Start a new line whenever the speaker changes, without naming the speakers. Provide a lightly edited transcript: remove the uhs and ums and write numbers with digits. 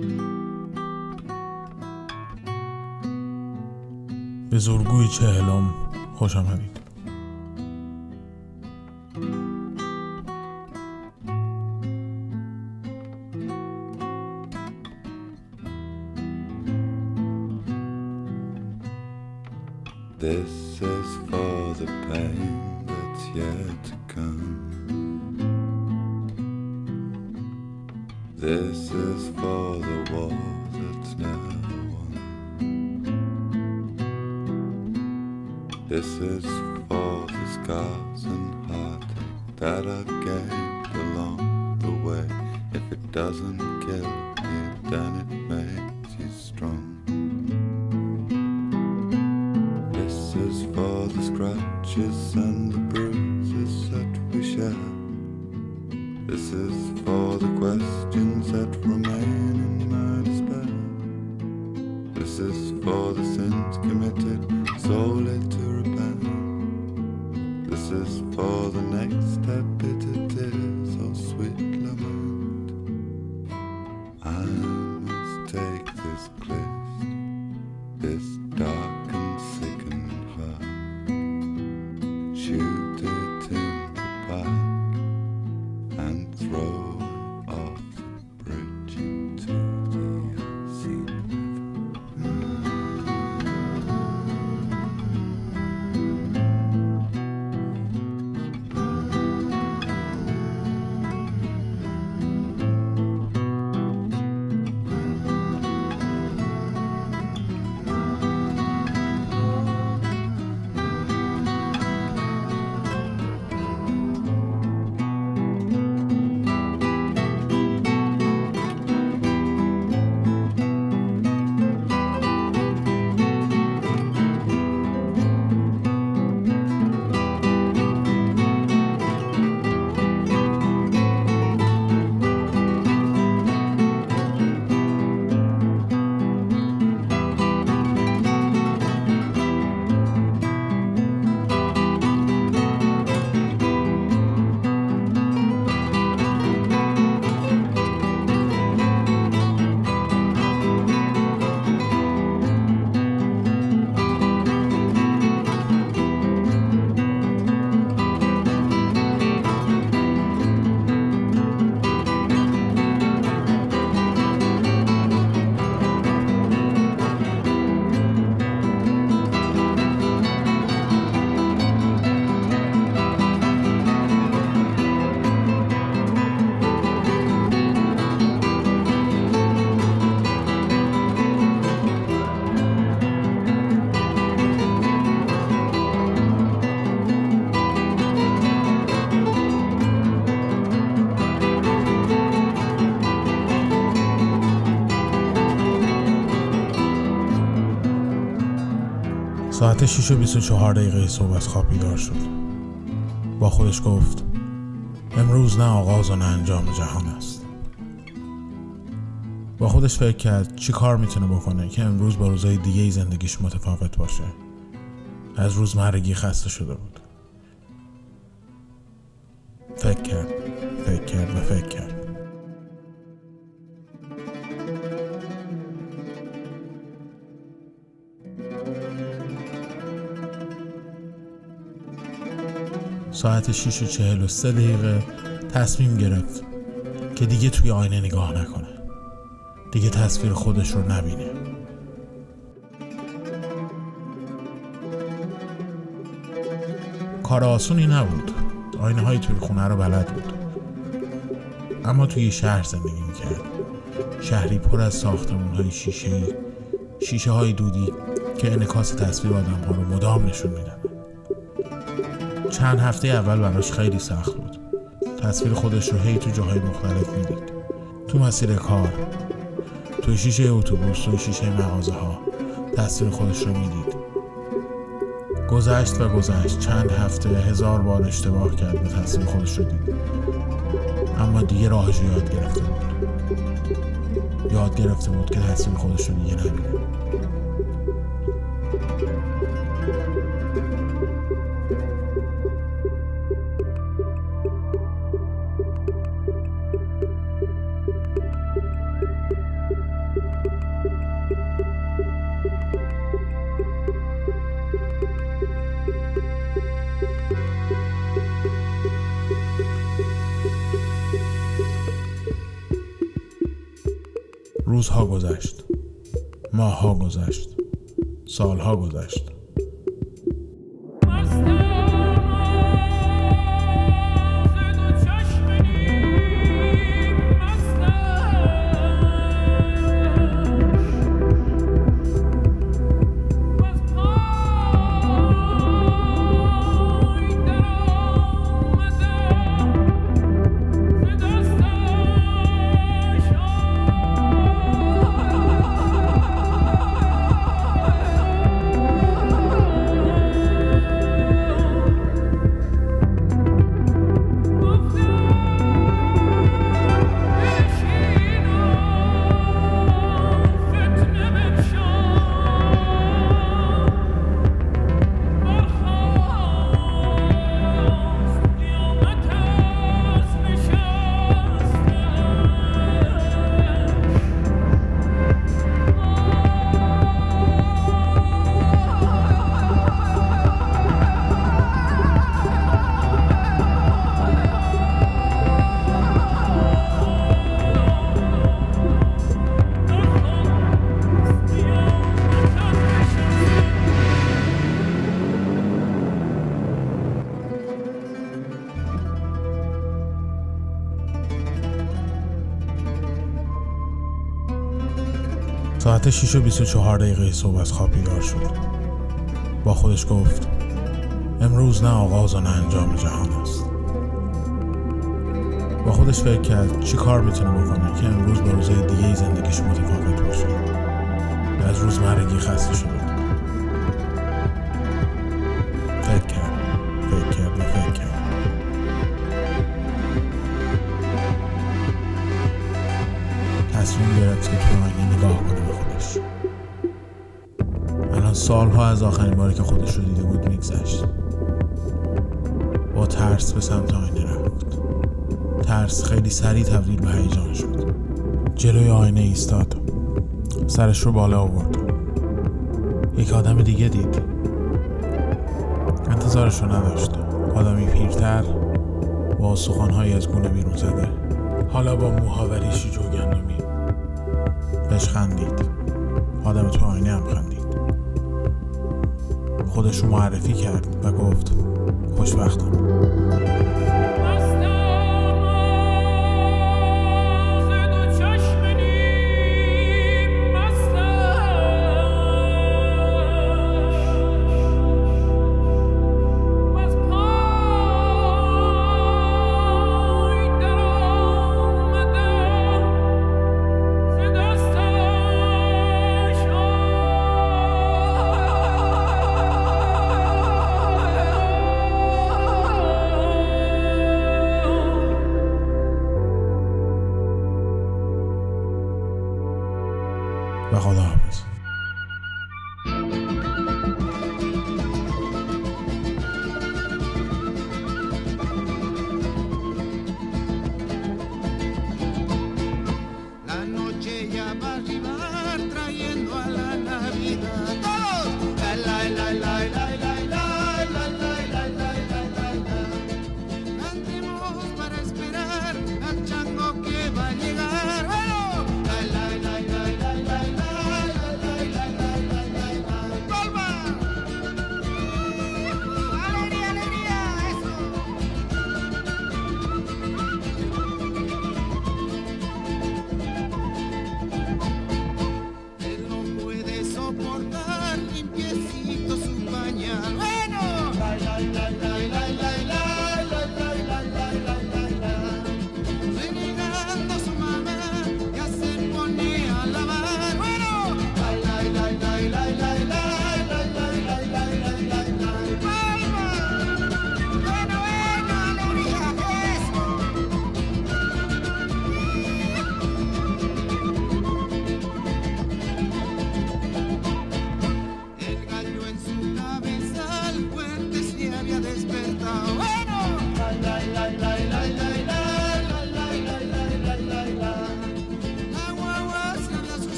به زورگوی 40 خوش آمدید.
This is for the pain that's yet to come. This is for the war that's never won. This is for the scars and heartache that I gained along the way. If it doesn't kill you, then it makes you strong. This is for the scratches and the bruises that we share. This is for the questions that remain in my despair. This is for the sins committed solely to repent. This is for the next step, bitter tears or sweet lament. I must take this list, this dark and sickened heart, shoot it in the back and throw it off the bridge into the unseen
ساعت 6:24 صبح از خواب بیدار شد. با خودش گفت امروز نه آغاز و نه انجام جهان است. با خودش فکر کرد چی کار میتونه بکنه که امروز با روزهای دیگه زندگیش متفاوت باشه. از روزمرگی خسته شده بود. فکر کرد. ساعت 6:43 تصمیم گرفت که دیگه توی آینه نگاه نکنه، دیگه تصویر خودش رو نبینه. کار آسونی نبود. آینه های توی خونه رو بلد بود، اما توی شهر زندگی میکرد. شهری پر از ساختمون های شیشه های دودی که انعکاس تصویر آدم ها رو مدام نشون میدن. چند هفته اول براش خیلی سخت بود. تصویر خودش رو هی تو جاهای مختلف میدید. تو مسیر کار، تو شیشه اتوبوس، تو شیشه مغازه ها تصویر خودش رو میدید. گذشت چند هفته 1000 بار اشتباه کرد، به تصویر خودش رو دید. اما دیگه راهش رو یاد گرفته بود که تصویر خودش رو دیگه نبینه. روزها گذشت، ماهها گذشت، سالها گذشت. ساعت 6:24 صبح از خواب بیدار شد. با خودش گفت امروز نه آغاز و نه انجام جهان است. با خودش فکر کرد چی کار میتونه بکنه که امروز با روزهای دیگه زندگیش متفاوت باشه. و از روزمرگی خسته شده. فکر کرد و فکر کرد. تصمیم گرفت که تو آینه نگاه کنه به خودش. الان سالها از آخرین باری که خودش رو دیده بود میگذشت. با ترس به سمت آینه رفت. ترس خیلی سریع تبدیل به هیجان شد. جلوی آینه ایستاد. سرش رو بالا آورد. یک آدم دیگه دید. انتظارش رو نداشت. آدمی پیرتر با استخوان‌هایی از گونه بیرون زده، حالا با موها و ریشی جوگندمی. بهش خندید. آدم تو آینه هم خندید. خودش رو معرفی کرد و گفت خوشبختم. و خداحافظ.